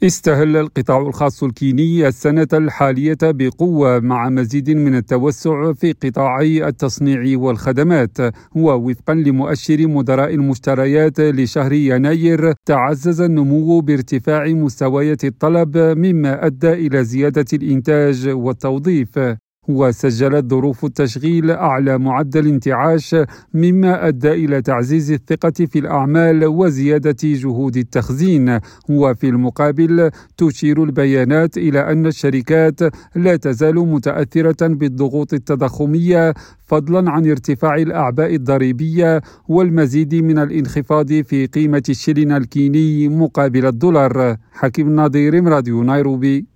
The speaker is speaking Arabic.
استهل القطاع الخاص الكيني السنة الحالية بقوة مع مزيد من التوسع في قطاعي التصنيع والخدمات. ووفقا لمؤشر مدراء المشتريات لشهر يناير، تعزز النمو بارتفاع مستويات الطلب مما أدى إلى زيادة الإنتاج والتوظيف. وسجلت ظروف التشغيل أعلى معدل انتعاش مما أدى إلى تعزيز الثقة في الأعمال وزيادة جهود التخزين. وفي المقابل تشير البيانات إلى أن الشركات لا تزال متأثرة بالضغوط التضخمية، فضلا عن ارتفاع الأعباء الضريبية والمزيد من الانخفاض في قيمة الشلن الكيني مقابل الدولار. حكيم ناظر، راديو نيروبي.